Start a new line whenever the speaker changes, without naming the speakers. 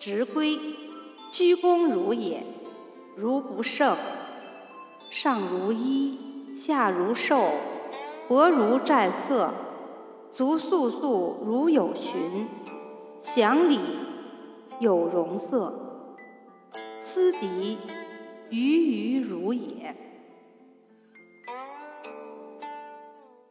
直归，居功如也。如不胜，上如衣，下如兽，薄如战色，足簌簌如有寻，祥礼有容色，斯敌于如也。